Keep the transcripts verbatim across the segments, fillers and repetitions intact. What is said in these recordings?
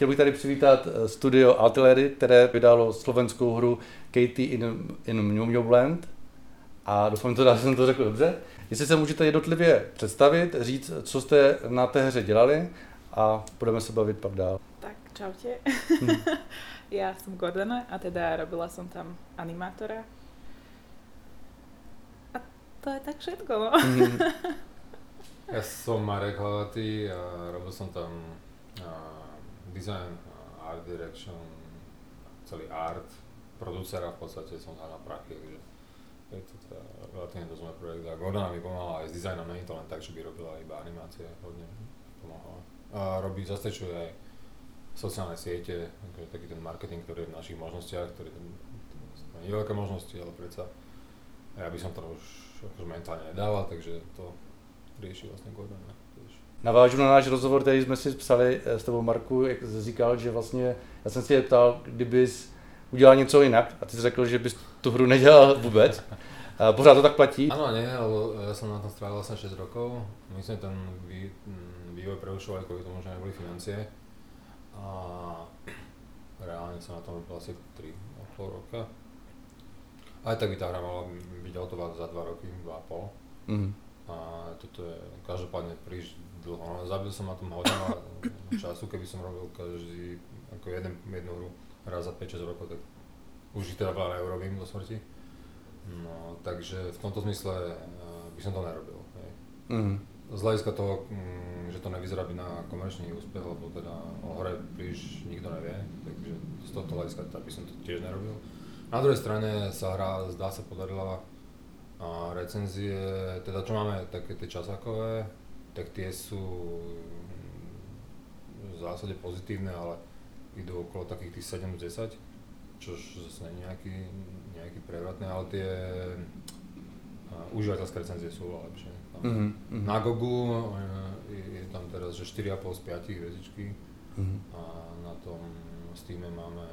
chtěl bych tady přivítat studio Artillery, které vydalo slovenskou hru Katie in, in Mumioland. A doufám, že jsem to řekl dobře. Jestli se můžete jednotlivě představit, říct, co jste na té hře dělali a budeme se bavit pak dál. Tak, čaute. Ja som Gordana a teda robila som tam animátora. A to je tak všetko, no. Ja som Marek Hlavatý a robil som tam uh, design, uh, art direction, celý art, producera v podstate som tam na prachy, takže je to teda relatívne dosť môj projekt a Gordana mi pomáhala aj s dizajnom, nie je to len tak, že by robila iba animácie, hodne pomáhala. A robí, zastrečuje aj sociálne siete, taký ten marketing, ktorý je v našich možnostiach, ktorý tam nie je veľké možnosti, ale predsa ja by som to už akože mentálne nedával, takže to rieši vlastně Gordana. Navážu na náš rozhovor, který jsme si psali s tebou, Marku, jak jsi říkal, že vlastně, já jsem si je ptal, kdybys udělal něco jinak a ty jsi řekl, že bys tu hru nedělal vůbec. A pořád to tak platí? Áno, nie, lebo ja som na tom strávil vlastne šesť rokov. Myslím, ten vý, vývoj prerušoval aj kvôli tomu, že neboli financie. A reálne som na tom robil asi tri a pol roka. Aj tak by tá hra mala byť hotová za dva roky, dva a pol. Mm. A toto je každopádne príliš dlho. No, zabil som na tom hodne času, keby som robil každý, ako jeden, jednu hru raz za päť šesť rokov, tak už ich teda veľa neurobím do smrti. No, takže v tomto zmysle uh, by som to nerobil. Hej. Mm. Z hľadiska toho, um, že to nevyzerá byť na komerčný úspech, lebo teda o hre príliš nikto nevie, takže z tohto hľadiska by som to tiež nerobil. Na druhej strane sa hra, zdá sa, podarila a recenzie, teda čo máme také tie časákové, tak tie sú v zásade pozitívne, ale idú okolo takých tých sedem z desať, čož zase nie je nejaký, nejaký prevratné, ale tie uh, užívateľské recenzie sú oveľa lepšie. Mm-hmm. Na Gogu je, je tam teraz že štyri a pol z päť hviezdičky mm-hmm. a na tom Steame máme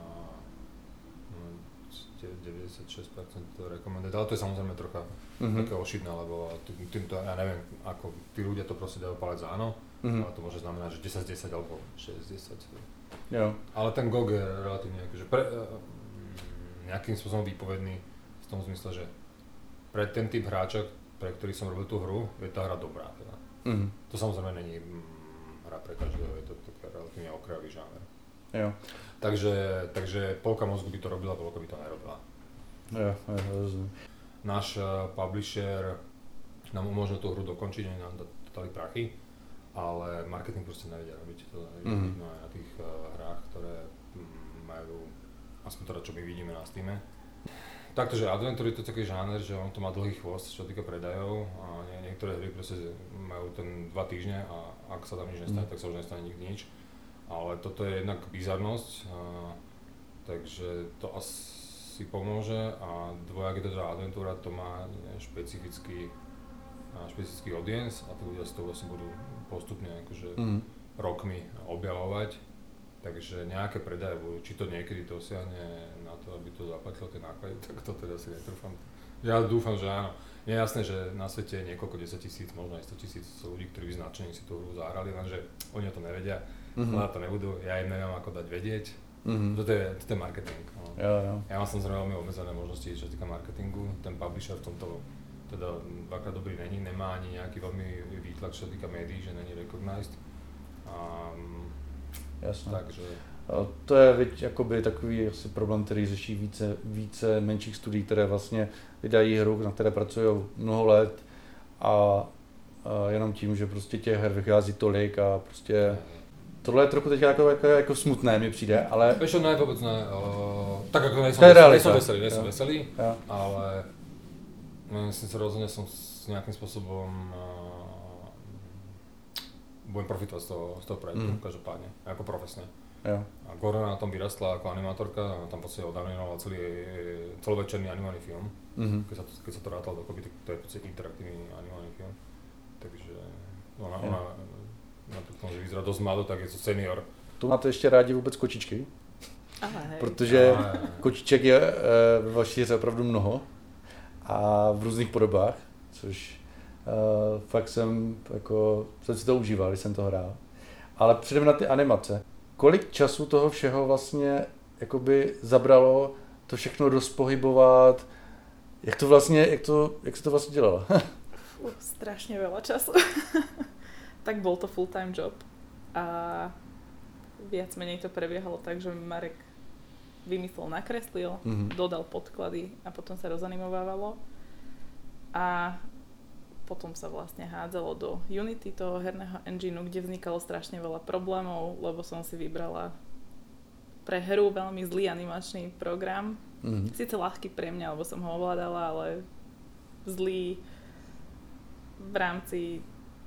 deväťdesiatšesť percent recommended, ale to je samozrejme trocha mm-hmm. také ošidné, lebo týmto, ja neviem, ako tí ľudia to proste dajú palec za áno, mm-hmm. ale to môže znamenať, že desať z desať alebo šesť z desať. Jo. Ale ten G O G je relatívne akože pre, nejakým spôsobom výpovedný v tom zmysle, že pre ten typ hráča, pre ktorý som robil tú hru, je tá hra dobrá. Teda. Mm-hmm. To samozrejme není hra pre každého, je to taký relatívne okrajový žáner. Jo. Takže, takže polka mozgu by to robila, polka by to nerobila. Jo, jo, rozumiem. Náš uh, publisher nám umožnil tú hru dokončiť, nám dali prachy, ale marketing proste nevedia robiť. To je mm-hmm. vidno aj na tých uh, hrách, ktoré mm, majú, aspoň teda čo my vidíme na Steame. Takže Adventure je to taký žáner, že on to má dlhý chvost, čo týka predajov a nie, niektoré hry proste majú ten dva týždne a ak sa tam nič nestane, mm. tak sa už nestane nikdy nič. Ale toto je jednak bizarnosť, a, takže to asi pomôže a dvojak je to teda Adventúra, to má špecifický, špecifický audience a tí ľudia si to vlastne budú postupne akože mm. rokmi objavovať. Takže nejaké predaje budú, či to niekedy dosiahne na to, aby to zaplatilo tie náklady, tak to teda si netrúfam. Ja dúfam, že áno. Je jasné, že na svete je niekoľko desať tisíc, možno aj sto tisíc ľudí, ktorí by značení si tú hru zahrali, lenže oni o to nevedia, mm-hmm. na to nebudú, ja im neviem ako dať vedieť. Mm-hmm. Toto je, toto je marketing. No. Jo, jo. Ja mám samozrejme veľmi obmedzené možnosti, čo týka marketingu. Ten publisher v tomto teda dvakrát dobrý není, nemá ani nejaký veľmi výtlak, čo týka médií, že není recognized. Um, Jasně. Takže... To je viď, jakoby takový asi problém, který řeší více, více menších studií, které vlastně vydají hru, na které pracují mnoho let a, a jenom tím, že prostě těch her vychází tolik a prostě tohle je trochu teď jako, jako, jako smutné mi přijde, ale... Víš, ne, vůbec ne, uh, tak jako nejsem, veselý, nejsem veselý, nejsem veselý, ale myslím si rozhodně jsem s nějakým způsobem uh, budem profitovať z toho, z toho projektu, mm. každopádne, ako profesne. Jo. A Gordana na tom vyrastla ako animátorka, a tam v podstate odanimovala celý celovečerný animovaný film. Mm-hmm. Keď, sa to, keď sa to rátalo dokopy, tak to je v podstate interaktívny animovaný film. Takže ona, ja. ona napriek tomu, že vyzerá dosť mladо, tak je to senior. Tu máte ještě rádi vůbec kočičky? Aha, hej. Protože Aha, hej. kočiček je ve vaší hře opravdu mnoho a v různých podobách, což Uh, fakt jsem, jako, jsem si to užíval, když jsem to hrál. Ale předem na ty animace. kolik času toho všeho vlastně jakoby zabralo to všechno rozpohybovat, jak to vlastně, jak to, jak se to vlastně dělalo? Fú, strašne veľa času. Tak bol to full-time job a viac menej to prebiehalo tak, že Marek vymyslel, nakreslil, mm-hmm. dodal podklady a potom sa rozanimovávalo a potom sa vlastne hádzalo do Unity, toho herného engineu, kde vznikalo strašne veľa problémov, lebo som si vybrala pre hru veľmi zlý animačný program. Mm-hmm. Sice ľahký pre mňa, lebo som ho ovládala, ale zlý v rámci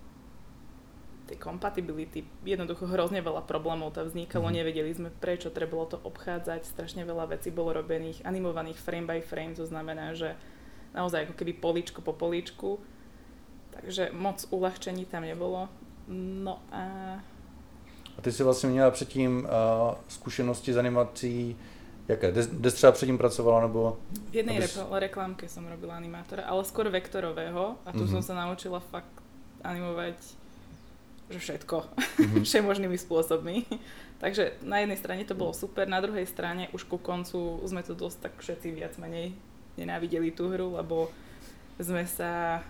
tej compatibility. Jednoducho hrozne veľa problémov tam vznikalo, mm-hmm. nevedeli sme prečo, trebalo to obchádzať, strašne veľa vecí bolo robených, animovaných frame by frame, to znamená, že naozaj ako keby políčko po políčku, takže moc uľahčení tam nebolo. No a... A ty si vlastně měla předtím uh, zkušenosti s animací, jaké? Kde třeba předtím pracovala, nebo... V jednej abys... re- reklamke som robila animátora, ale skôr vektorového a tu mm-hmm. som sa naučila fakt animovať že všetko, mm-hmm. všemožnými spôsobmi. Takže na jednej strane to bolo super, na druhej strane už ku koncu sme to dosť tak všetci viac menej nenávideli tú hru, lebo sme sa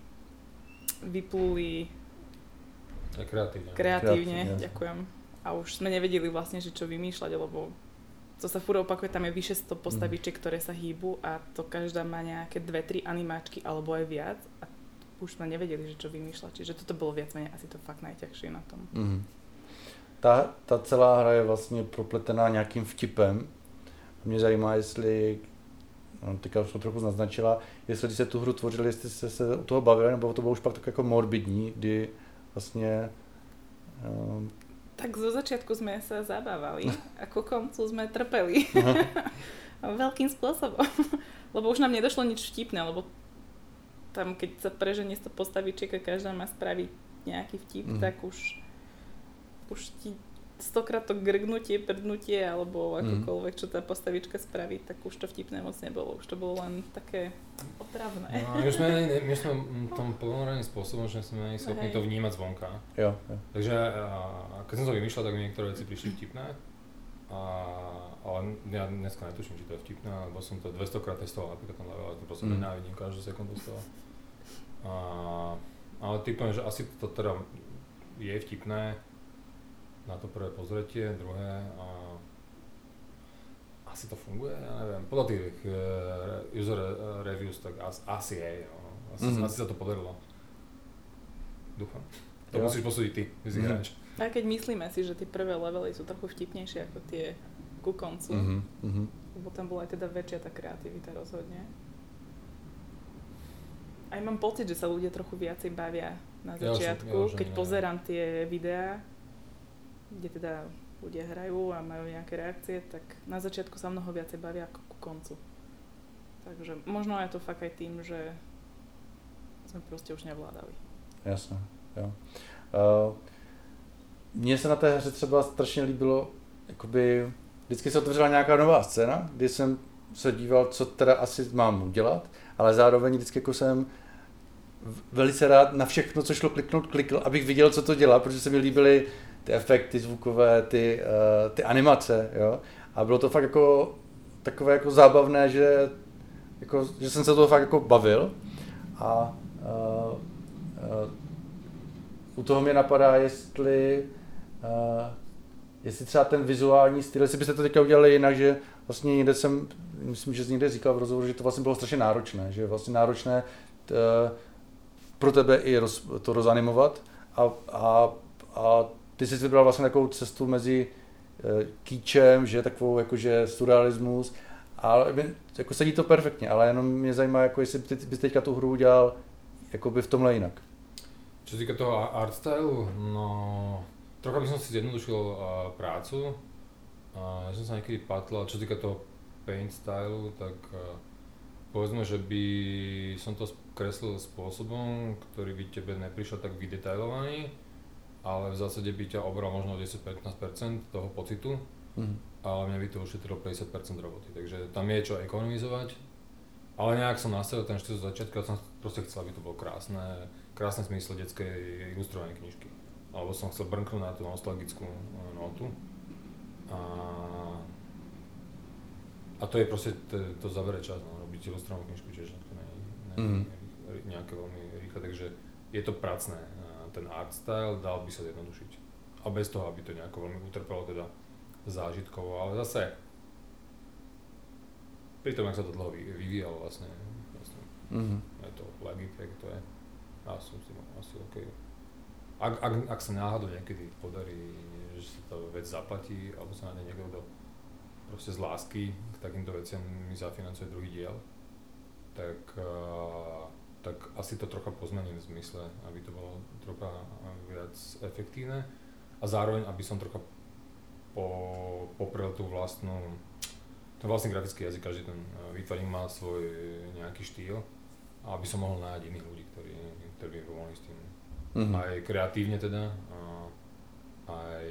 vypluli kreatívne. Kreatívne, ďakujem. A už sme nevedeli vlastne, že čo vymýšľať, lebo to sa furt opakuje, tam je vyše sto postavičiek, ktoré sa hýbu a to každá má nejaké dve tri animáčky alebo aj viac a už sme nevedeli, že čo vymýšľať. Čiže toto bolo viac menej asi to fakt najťažšie na tom. Mm-hmm. Ta, ta celá hra je vlastně propletená nějakým vtipem. Mě zajímá, jestli, no, teďka už to trochu naznačila, jestli když se tu hru tvořili, jestli jste se u toho bavili, nebo to bylo už pak tak jako morbidní, kdy vlastně... Um... Tak zo začiatku sme sa zabávali a ku koncu sme trpeli. Veľkým spôsobom. Lebo už nám nedošlo nič vtipné, lebo tam keď sa preženie sto postavičiek a každá má spraviť nejaký vtip, mm. tak už už ti stokrát to grgnutie, prdnutie alebo akokoľvek, čo tá postavička spraví, tak už to vtipné moc nebolo. Už to bolo len také otravné. No, my sme, my sme tom plnoraným spôsobom, že sme schopní to vnímať zvonka. Jo, jo. Takže a, keď som to vymýšľal, tak mi niektoré veci prišli vtipné. A, ale ja dneska netuším, či to je vtipné, lebo som to dvestokrát testoval napríklad ten level, ale to proste mm. nenávidím každú sekundu z toho. A, ale typujem, že asi to teda je vtipné na to prvé pozretie, druhé a asi to funguje, ja neviem, podľa tých uh, user reviews tak asi, asi je, no. asi, mm-hmm. asi sa to podarilo. Dúfam. To jo. Musíš posúdiť ty, ty si hráč. A keď myslíme si, že tie prvé levely sú trochu vtipnejšie ako tie ku koncu, mm-hmm. lebo tam bola aj teda väčšia tá kreativita rozhodne. Aj mám pocit, že sa ľudia trochu viacej bavia na začiatku, ja, ja, keď ne. pozerám tie videá, kde teda ľudia hrajú a majú nejaké reakcie, tak na začiatku sa mnoho viacej bavia ako ku koncu. Takže možno je to fakt aj tým, že sme proste už nevládali. Jasné, jo. Uh, mně se na té hře třeba strašně líbilo, jakoby vždycky se otevřela nějaká nová scéna, kdy jsem se díval, co teda asi mám udělat, ale zároveň vždycky jako jsem velice rád na všechno, co šlo kliknout, klikl, abych viděl, co to dělá, protože se mi líbily ty efekty zvukové, ty, uh, ty animace, jo. A bylo to fakt jako takové jako zábavné, že, jako, že jsem se toho fakt jako bavil. A uh, uh, u toho mě napadá, jestli, uh, jestli třeba ten vizuální styl, jestli byste to teďka udělali jinak, že vlastně někde jsem, myslím, že jsi někde říkal v rozhovoru, že to vlastně bylo strašně náročné, že je vlastně náročné t, uh, pro tebe i roz, to rozanimovat a, a, a ty jsi vybral vlastně takovou cestu mezi uh, kýčem, že takovou jakože surrealismus, ale jako sedí to perfektně, ale jenom mě zajímá, jako jestli ty, bys teďka tu hru udělal jakoby v tomhle jinak. Čo týka toho art stylu, no trocha by som si zjednodušil uh, prácu. Uh, ja som sa niekedy patlal, čo týka toho paint stylu, tak uh, povedzme, že by som to kreslil spôsobom, ktorý by tebe neprišiel tak vydetailovaný, ale v zásade by ťa obral možno desať až pätnásť percent toho pocitu, mm. ale mňa by to ušetrilo päťdesiat percent roboty, takže tam je čo ekonomizovať, ale nejak som nastavil ten štýl z začiatku, ja som proste chcel, aby to bolo krásne, krásne zmysle detskej ilustrovanej knižky, alebo som chcel brnknúť na tú nostalgickú notu A, a to je proste, to, to zabere čas, no, robiť ilustrovnú knižku, čiže to nie je mm. nejaké veľmi rýchle, takže je to pracné. Ten art style dal by sa zjednodušiť. A bez toho, aby to nejako veľmi utrpelo teda zážitkovo, ale zase pri tom, jak sa to dlho vyvíjalo vlastne, vlastne mm-hmm. je to legit, jak to je. Ja som s tým asi OK. Ak, ak, ak sa náhodou niekedy podarí, že sa tá vec zaplatí, alebo sa na ne niekto proste z lásky k takýmto veciam mi zafinancuje druhý diel, tak, uh, tak asi to trocha pozmením v zmysle, aby to bolo trocha viac efektívne a zároveň, aby som trocha po, poprel tú vlastnú, ten vlastný grafický jazyk, každý ten výtvarník má svoj nejaký štýl a aby som mohol nájsť iných ľudí, ktorí, ktorí by pomohli s tým. Mm-hmm. Aj kreatívne teda, a aj,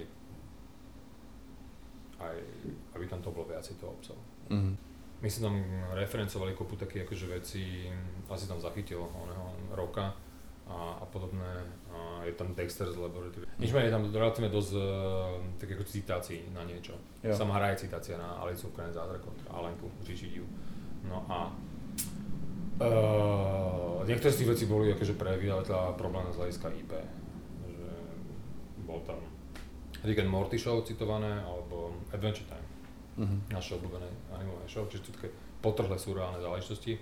aj aby tam to bolo viacej toho obsahu. Mm-hmm. My sme tam referencovali kopu takých akože veci, asi tam zachytil oného roka a, a podobné. A je tam Dexter's Laboratory. Nič menej, je tam relatívne dosť uh, tak ako citácií na niečo. Jo. Sama hra je citácia na Alicu v krajine zázrakov, Alenku Říčidiu. No a uh, niektoré z tých vecí boli akože pre vydavateľa problém z hľadiska í pé. Že bol tam Rick and Morty show citované, alebo Adventure Time. Mm-hmm. Naše obľúbené animové show, čiže to také potrhlé surreálne záležitosti.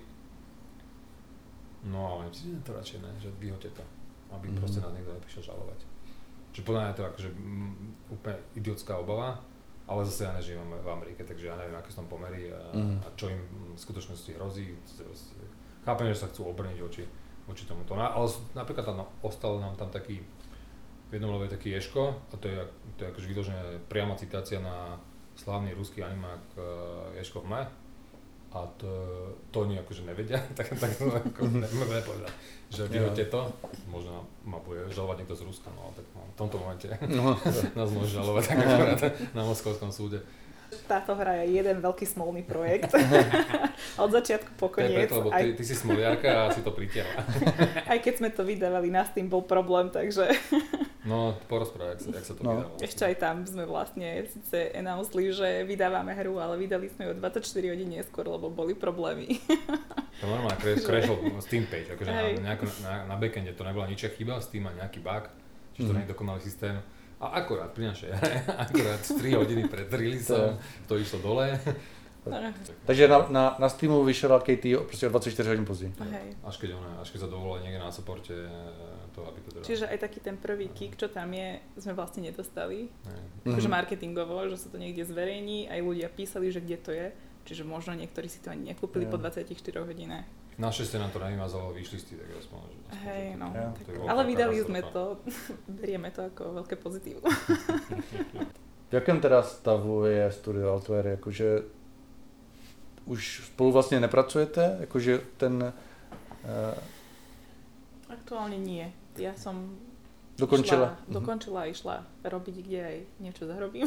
No ale myslím, že to radšej ne, že vyhoďte to, aby mm-hmm. proste nás niekto neprišiel žalovať. Čiže podľa mňa je to akože m, úplne idiotská obava, ale zase ja nežijem v Amerike, takže ja neviem, aké sú tam pomery a, mm-hmm. a čo im v skutočnosti hrozí. Chápem, že sa chcú obrniť voči, voči tomuto. No, ale napríklad tam ostal nám tam taký, v jednom leve taký Ješko, a to je, to je akože vyložené priama citácia na slávny ruský animák uh, Ješko v mle. A to, to oni akože nevedia, tak, tak to ako nemôžeme povedať, že vyhoďte to, možno ma bude žalovať niekto z Ruska, no tak no, v tomto momente no. nás môže žalovať tak akorát na Moskovskom súde. Táto hra je jeden veľký smolný projekt, od začiatku po koniec. To je preto, lebo aj... ty, ty si smoliarka a si to pritiahla. Aj keď sme to vydávali, nás tým bol problém, takže... No, porozprávaj, jak sa, jak sa to no. vydávalo. Ešte aj tam sme vlastne síce announceli, že vydávame hru, ale vydali sme ju dvadsaťštyri hodín neskôr, lebo boli problémy. To normálne crashol Steam page, akože na, nejako, na, na backende to nebola ničia chyba, Steam má nejaký bug, čiže to mm. nie je dokonalý systém. A akorát pri našej hre, akorát tri hodiny pred releaseom to išlo dole. Takže na, na, na Steamu vyšel K T prostě o dvadsaťštyri hodín později. Až keď ona, až keď sa dovolila niekde na supporte to, aby to teda... Čiže aj taký ten prvý kick, čo tam je, sme vlastne nedostali. Akože marketingovo, že sa to niekde zverejní, aj ľudia písali, že kde to je. Čiže možno niektorí si to ani nekúpili ja. po dvadsaťštyri hodinách. Našťastie nám to nevymazalo výšlisty, tak aspoň. Hej, no. Ja. Tak, ale vydali sme to, berieme to ako veľké pozitívu. V jakém teda stavu je Studio Altware? Jakože už spolu vlastně nepracujete? Jakože ten... Uh... Aktuálne nie. Ja som dokončila, šla, dokončila a išla robiť, kde aj niečo zarobím.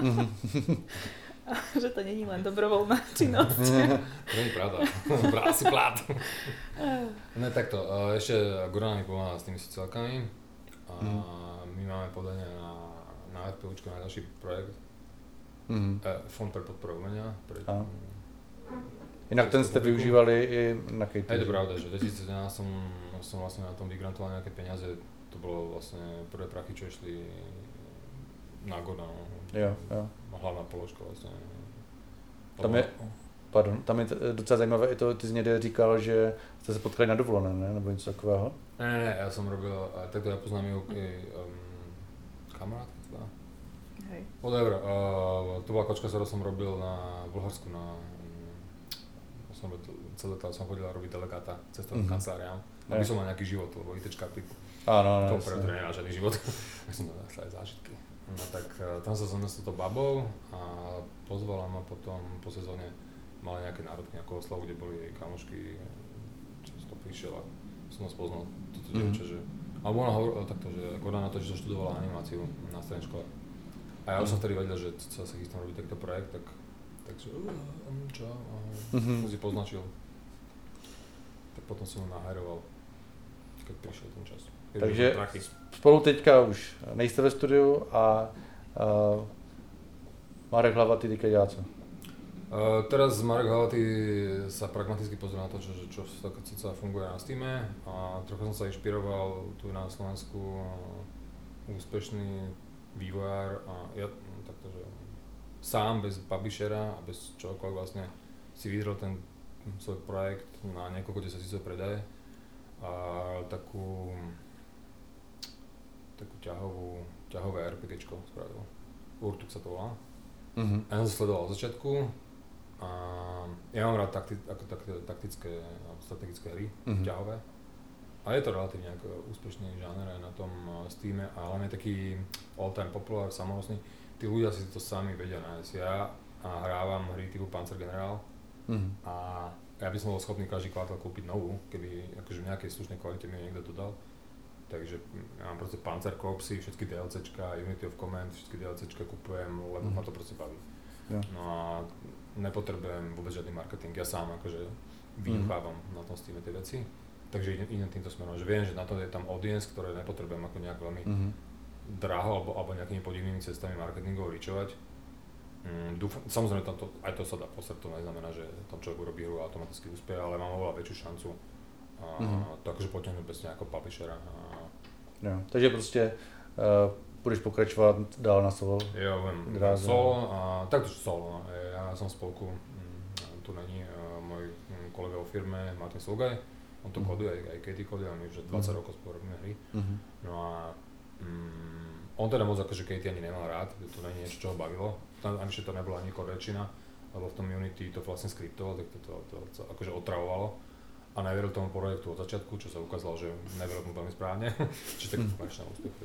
Že to není len dobrovoľná činnosť. To nie je pravda. Brá si plát. Ne, takto. Ešte Gorana mi pomáha s tými sociálkami. A my máme podanie na, na RPUčko, na ďalší projekt. Mm-hmm. Fond pre podporu umenia. Pre... Inak ten ste využívali i na K T. Je to pravda, že v dvetisícsedemnásť som, som vlastne na tom vygrantoval nejaké peniaze. To bolo vlastne prvé prachy, čo išli na Gorana. Jo, jo. Hlavná položka vlastně. Tam je, pardon, tam je docela zajímavé i to, ty jsi někde říkal, že jste se potkali na dovolené, ne? Nebo něco takového? Ne, ne, ne, já jsem robil, takto já poznám ju um, kamarádka teda. Hej. Whatever, uh, to byla kočka, kterou jsem robil na Bulharsku, na um, jsem celé to jsem chodil robiť delegáta cestovným mm-hmm. kanceláriám, aby som mal nejaký život, lebo ITčka pri Áno, tom preto nemá žiadny život, tak som dal aj zážitky. No tak tam sa som s touto babou a pozvala ma potom po sezóne, mala nejaké národky, nejakú oslavu, kde boli jej kamošky, čo som to prišiel a som nás poznal toto mm-hmm. dievča, že... Alebo ona hovorila takto, že Gordana to, že študovala animáciu na strednej škole. A ja už som vtedy vedel, že sa sa chystám robiť takýto projekt, tak... Takže... Čo? Mm-hmm. Som si poznačil. Tak potom som ho nahajroval, keď prišiel ten čas. Takže spolu teďka už nejste ve studiu a, a Marek Hlavatý teďka dělá co? Uh, teraz Marek Hlavatý sa pragmaticky pozrie na to, čo, čo, čo sa funguje na Steame a trochu som sa inšpiroval tu na Slovensku uh, úspešný vývojár a ja takto, že sám bez publishera a bez čohokoľvek vlastne si vydrel ten svoj projekt na niekoľko desaťtisícov predaje a takú takú ťahovú, ťahové RPGčko spravil. Urtuk sa to volá. Uh-huh. A ja som sa sledoval od začiatku a ja mám rád takti, ako takti, taktické a strategické hry, uh-huh. ťahové. A je to relatívne ako úspešný žáner aj na tom Steame a hlavne taký all-time popular, samonosný. Tí ľudia si to sami vedia nájsť. Ja a hrávam hry typu Panzer General uh-huh. a ja by som bol schopný každý kvartál kúpiť novú, keby akože v nejakej slušnej kvalite mi niekto dodal. Takže ja mám proste Panzer Corpsy, všetky DLCčka, Unity of Command, všetky DLCčka kupujem, lebo mm. ma to proste baví. Ja. No a nepotrebujem vôbec žiadny marketing, ja sám akože vyuchávam mm. na tom Steame tie veci. Takže idem, idem týmto smerom, že viem, že na to je tam audience, ktoré nepotrebujem ako nejak veľmi mm. draho alebo, alebo nejakými podivnými cestami marketingov ričovať. Mm, dúfam, samozrejme to, aj to sa dá posrať, to neznamená, že tam človek urobí hru a automaticky úspie, ale mám oveľa väčšiu šancu a mm-hmm. to akože potiahnuť bez nejakého publishera. A... Jo, takže prostě uh, budeš pokračovat dál na solo? Jo, viem, solo a takto solo. Ja som v spolku, mm, tu není uh, môj mm, kolega vo firme Martin Slugaj, on to mm-hmm. koduje, aj, aj Katie koduje, a my už dvadsať mm-hmm. rokov spolu robíme hry. Mm-hmm. No a mm, on teda moc akože Katie ani nemal rád, to není niečo, čo ho bavilo, ani že to nebola ani korečina, lebo v tom Unity to vlastne skriptoval, tak to, to, to, to akože otravovalo. A neveril tomu projektu od začiatku, čo sa ukázalo, že neveril mu veľmi správne, čiže taký konečný úspech.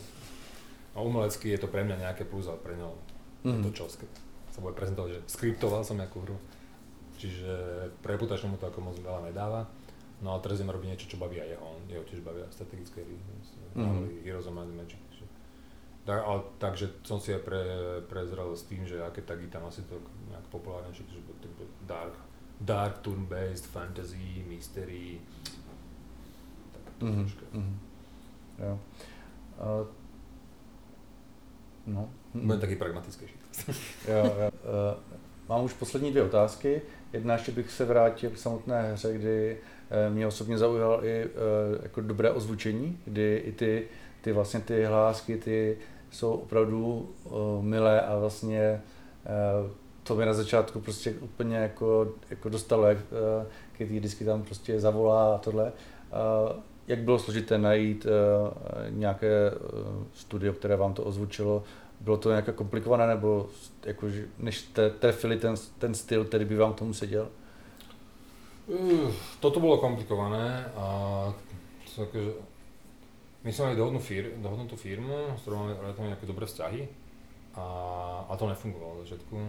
A umelecky je to pre mňa nejaké plus, ale pre ňa mm. to čo sa bude prezentovať, že skriptoval som nejakú hru, čiže pre reputačne mu to ako moc veľa nedáva. No a teraz idem robiť niečo, čo baví aj jeho, on, jeho tiež bavia strategické hry, mm. Heroes of Might and Magic. Tak, ale, takže som si aj pre, prezrel s tým, že aké tagy tam asi to nejak populárnejšie, že to bude dark. Dark, turn-based, fantasy, mystery, tak to mm-hmm. troška. Mm-hmm. Jo. Uh, no. Budem taký pragmatickejší. jo, jo. Uh, mám už poslední dvě otázky. Jedna ještě bych se vrátil k samotné hře, kdy uh, mě osobně zaujalo i uh, jako dobré ozvučení, kdy i ty, ty vlastně ty hlásky, ty jsou opravdu uh, milé a vlastně uh, to mě na začátku prostě úplně jako, jako dostalo, jak Katie vždycky tam prostě zavolá a tohle. Jak bylo složité najít nějaké studio, které vám to ozvučilo? Bylo to nějak komplikované, nebo jako, než jste trefili ten, ten styl, který by vám k tomu seděl? Uh, toto bolo komplikované a to akože, my sme mali dohodnú fir, dohodnutú firmu, s ktorou máme nejaké dobré vzťahy. A, a to nefungovalo v začiatku,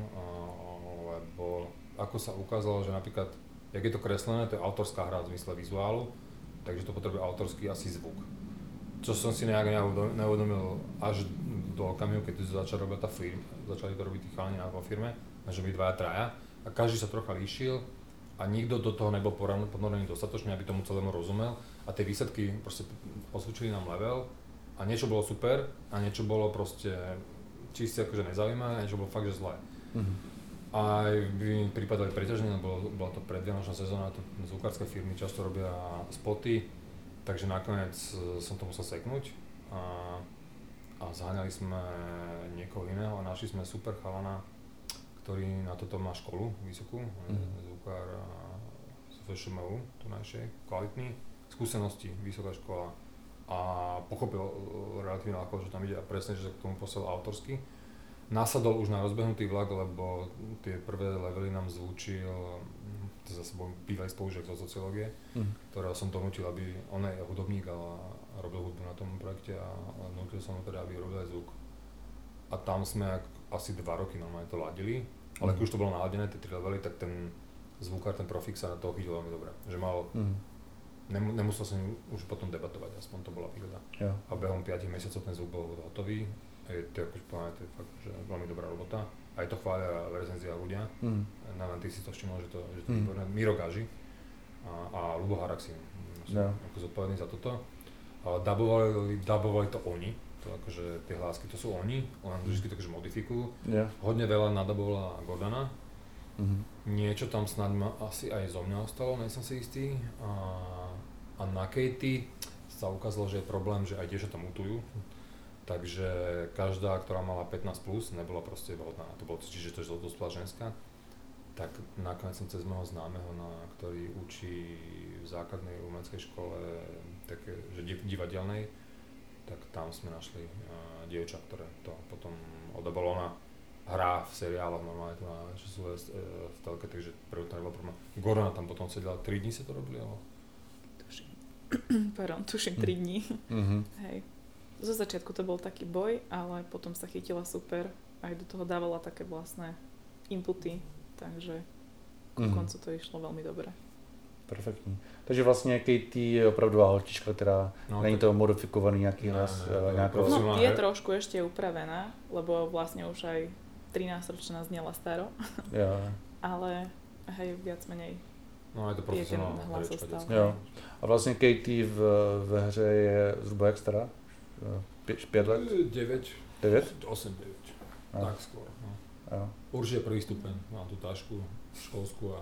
lebo ako sa ukázalo, že napríklad, jak je to kreslené, to je autorská hra v zmysle vizuálu, takže to potrebuje autorský asi zvuk. Čo som si nejak neuvedomil až do okamihu, keď začali robiť tá firma, začali to robiť tí chalani vo firme, že byli dvaja, traja a každý sa trocha líšil a nikto do toho nebol ponorený dostatočne, aby tomu celému rozumel a tie výsledky proste osvedčili nám level a niečo bolo super a niečo bolo proste čiste akože nezaujímavé, niečo bolo fakt, že zlé. Mm-hmm. A by mi pripadali preťažne, lebo bola to predvianočná sezóna, to zvukárske firmy často robia spoty, takže nakoniec som to musel seknúť a, a zháňali sme niekoho iného a našli sme super chalana, ktorý na toto má školu vysokú, mm-hmm. zvukár z ef š em ú, tunajšej, kvalitný, skúsenosti, vysoká škola. A pochopil relatívne ľahko, že tam ide a presne, že sa k tomu posiel autorsky. Nasadol už na rozbehnutý vlak, lebo tie prvé levely nám zvučil, to zase bol bývalý spolužiak zo sociológie, mm. ktorého som donútil, aby on je hudobník a robil hudbu na tom projekte a donútil som ho teda, aby robil aj zvuk. A tam sme asi dva roky normálne to ladili, ale mm. keď už to bolo naladené, tie tri levely, tak ten zvukár, ten profik sa na toho chytil veľmi dobre. Že mal mm. Nemusel som už potom debatovať, aspoň to bola výhoda. Ja. A behom piatich mesiacov ten zvuk bol hotový. Je to akože povedané, to je fakt, že veľmi dobrá robota. Aj to chvália v recenzii ľudia. Mm. Na ty si to všimol, že to, že to je výborné. Mm. Miro Gaži a, a Lubo Haraxin. Som ja. ako zodpovedný za toto. Ale dabovali, dabovali to oni, to akože tie hlásky to sú oni, len vždy to akože modifikujú. Yeah. Hodne veľa nadabovala Gordana. Mm-hmm. Niečo tam snad ma asi aj zo mňa ostalo, nejsem si istý. A, a na Katie sa ukázalo, že je problém, že aj dievčatá mutujú. Takže každá, ktorá mala pätnásť plus, nebola proste vhodná na to bolo, čiže to je dospelá ženská. Tak nakoniec som cez môjho známeho, na, ktorý učí v základnej umeleckej škole, také, že divadelnej, tak tam sme našli uh, dievča, ktoré to potom odobalo. Ona hrá v seriáloch normálne tu na čo sú uh, v telke, takže prvý to nebolo problém. Gorana tam potom sedela, tri dní sa to robili, alebo? Tuším, pardon, tuším tri dní. Mm-hmm. Hej. Zo začiatku to bol taký boj, ale potom sa chytila super, aj do toho dávala také vlastné inputy, takže ku mm-hmm. koncu to išlo veľmi dobre. Perfektní. Takže vlastně Katie je opravdová holčička, která no, není tak... to modifikovaný nějaký hlas. Ne, ne, nějakou... No, je trošku ešte upravená, lebo vlastne už aj trinásťročná znela staro. Jo. Ale hej, viac menej. No je to profesionálna herečka dětská. Jo. A vlastně Katie v, ve hře je zhruba jak stará? Pět, pět let? deväť. deväť? osem deväť. No. Tak skôr. No. Jo. Určite prvý stupeň. Mám tú tašku školskú a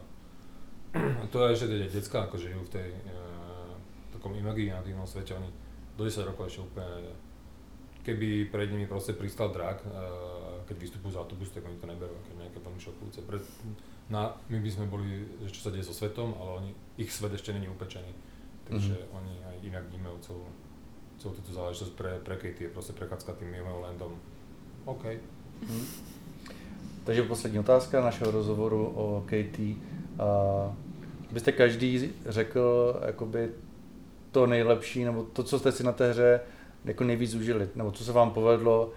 to je, že tie decká ako žijú v tej e, takom imaginatívnom svete, oni do desať rokov ešte úplne, keby pred nimi proste pristal drak, e, keď vystupujú z autobusu, tak oni to neberú, keď nejaké veľmi šokujúce. Pred, na, my by sme boli, že čo sa deje so svetom, ale oni, ich svet ešte není upečený, takže mm-hmm. oni aj inak vnímajú celú, celú túto záležitosť. Pre, pre Katie je proste prechádzka tým Mimolandom. OK. Mm. Takže poslední otázka našeho rozhovoru o Katie. Uh, byste každý řekl jakoby to nejlepší, nebo to, co jste si na té hře jako nejvíc užili, nebo co se vám povedlo?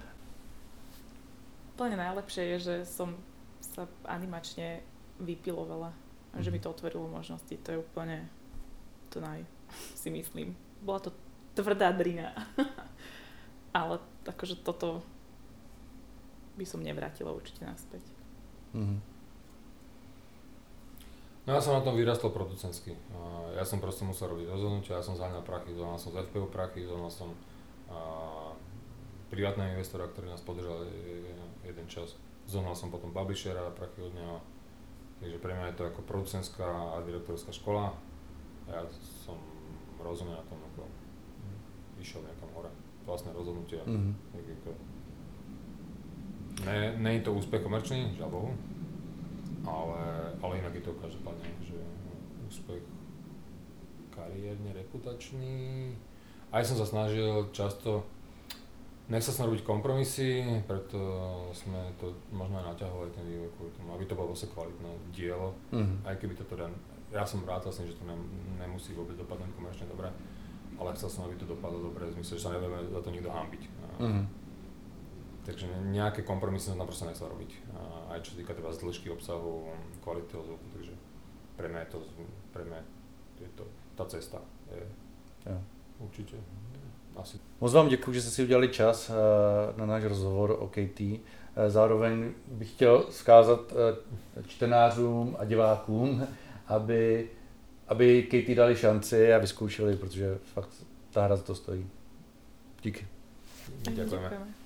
Úplne najlepšie je, že som sa animačne vypilovala a že mi to otvorilo možnosti. To je úplne to naj, si myslím. Bola to tvrdá drina. Ale akože toto by som nevrátila určite naspäť. Mm-hmm. No ja som na tom vyrastol producentsky. Ja som proste musel robiť rozhodnutia, ja som zháňal prachy, zohnal som z ef pé ó prachy, zohnal som uh, privátneho investora, ktorý nás podržal jeden čas. Zohnal som potom publishera, prachy od neho. Takže pre mňa je to ako producentská a direktorská škola. Ja som rozumel na tom, ako išiel niekam hore. Vlastné rozhodnutia. Mm-hmm. Ne, nie je to úspech komerčný, žiaľ Bohu. Ale, ale inak je to každopádne, že úspech kariérne, reputačný. Aj som sa snažil často, nechcel som robiť kompromisy, preto sme to možno aj naťahovali ten vývoj kvôli tomu, aby to bolo vlastne kvalitné dielo. Mm-hmm. Aj keby to teda, ja som rád vlastne, že to ne, nemusí vôbec dopadnúť komerčne dobre, ale chcel som, aby to dopadlo dobre, v zmysle, že sa nebudeme za to nikto hanbiť. Mm-hmm. Takže nejaké kompromisy som tam proste nechcel robiť. Aj čo sa týka teda dĺžky obsahu, kvality toho zvuku, takže pre mňa je to, pre mňa je to tá cesta. Je, jo. Určite. Asi. Moc vám děkuji, že jste si udělali čas na náš rozhovor o Katie. Zároveň bych chtěl vzkázat čtenářům a divákům, aby, aby Katie dali šanci a vyzkoušeli, protože fakt ta hra za to stojí. Díky. Ďakujeme.